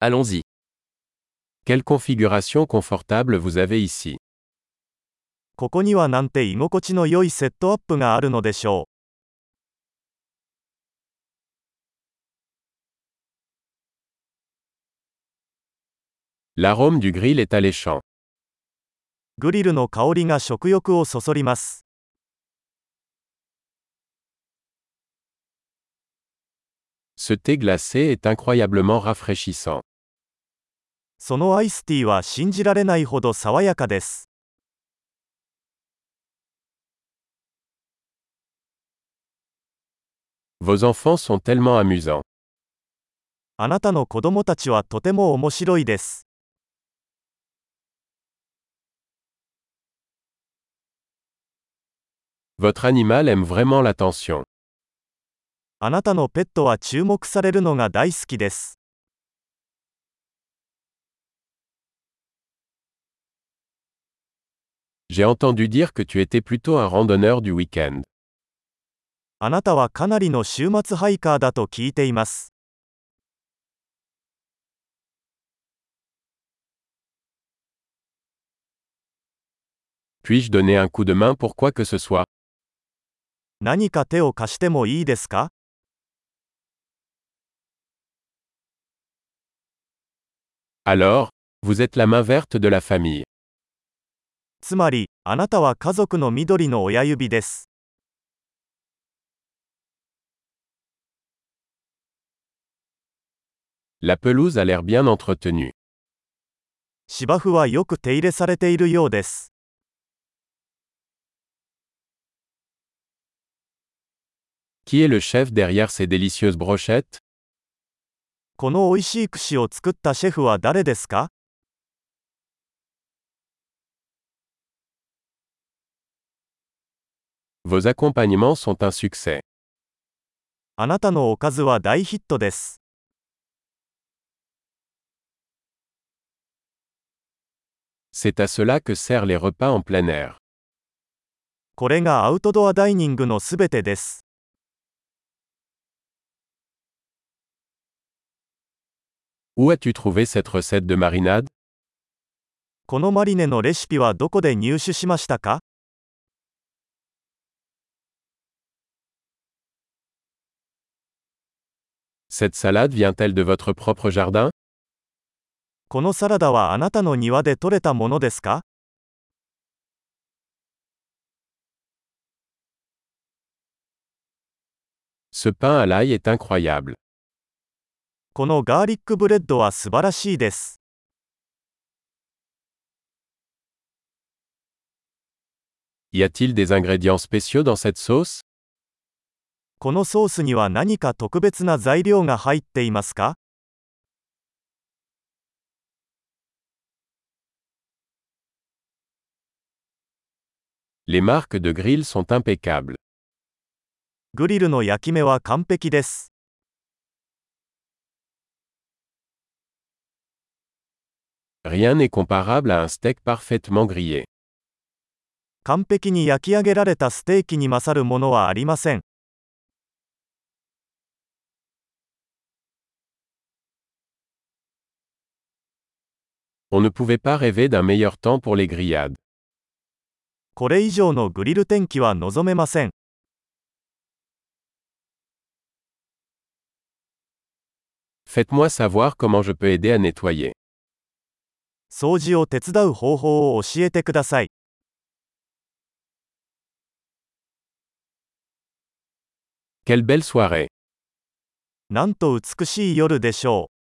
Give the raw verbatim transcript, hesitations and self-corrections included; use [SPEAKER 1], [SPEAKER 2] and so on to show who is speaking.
[SPEAKER 1] Allons-y.
[SPEAKER 2] Quelle configuration confortable vous avez ici.
[SPEAKER 3] ここにはなんて居心地の良いセットアップがあるのでしょ
[SPEAKER 2] L'arôme du grill est alléchant.
[SPEAKER 3] う。グリルの香りが食欲をそそります。
[SPEAKER 2] Ce thé glacé est incroyablement rafraîchissant.
[SPEAKER 3] そのアイスティーは信じられないほど爽やかです。
[SPEAKER 2] Vos enfants sont tellement amusants.
[SPEAKER 3] あなたの子供たちはとても面白いです。
[SPEAKER 2] Votre animal aime vraiment l'attention.
[SPEAKER 3] あなたのペットは注目されるのが大好きです。
[SPEAKER 2] J'ai entendu dire que tu étais plutôt un randonneur du week-end.
[SPEAKER 3] あなたはかなりの週末ハイカーだと聞いています。
[SPEAKER 2] Puis-je donner un coup de main pour quoi que ce soit?
[SPEAKER 3] 何か手を貸してもいいですか？
[SPEAKER 2] Alors, vous êtes la main verte de la famille.
[SPEAKER 3] つまり、あなたは家族の緑の親指です。
[SPEAKER 2] La pelouse a l'air bien entretenue.
[SPEAKER 3] 芝生はよく手入れされているようです。
[SPEAKER 2] Qui est le chef derrière ces délicieuses brochettes?
[SPEAKER 3] この美味しい串を作ったシェフは誰ですか？
[SPEAKER 2] Vos accompagnements sont un succès.
[SPEAKER 3] あなたのおかずは大ヒットです。
[SPEAKER 2] C'est à cela que servent les repas en plein air.
[SPEAKER 3] これがアウトドアダイニングのすべてです。
[SPEAKER 2] Où as-tu trouvé cette recette de marinade?
[SPEAKER 3] このマリネのレシピはどこで入手しましたか？
[SPEAKER 2] Cette salade vient-elle de votre propre jardin?
[SPEAKER 3] このサラダはあなたの庭で採れたものですか？
[SPEAKER 2] Ce pain à l'ail est incroyable.
[SPEAKER 3] このガーリックブレッドは素晴らしいです。
[SPEAKER 2] Y a-t-il des ingrédients spéciaux dans cette sauce?
[SPEAKER 3] このソースには何か特別な材料が入っていますか？
[SPEAKER 2] Les marques de grill sont impeccables.
[SPEAKER 3] グリルの焼き目は完璧です。
[SPEAKER 2] Rien n'est comparable à un steak parfaitement grillé.
[SPEAKER 3] 完璧に焼き上げられたステーキに勝るものはありません。
[SPEAKER 2] On ne pouvait pas rêver d'un meilleur temps pour les grillades.
[SPEAKER 3] これ以上のグリル天気は望めません。
[SPEAKER 2] Faites-moi savoir comment je peux aider à nettoyer.
[SPEAKER 3] 掃除を手伝う方法を教えてください。
[SPEAKER 2] Quelle belle soirée!
[SPEAKER 3] なんと美しい夜でしょう。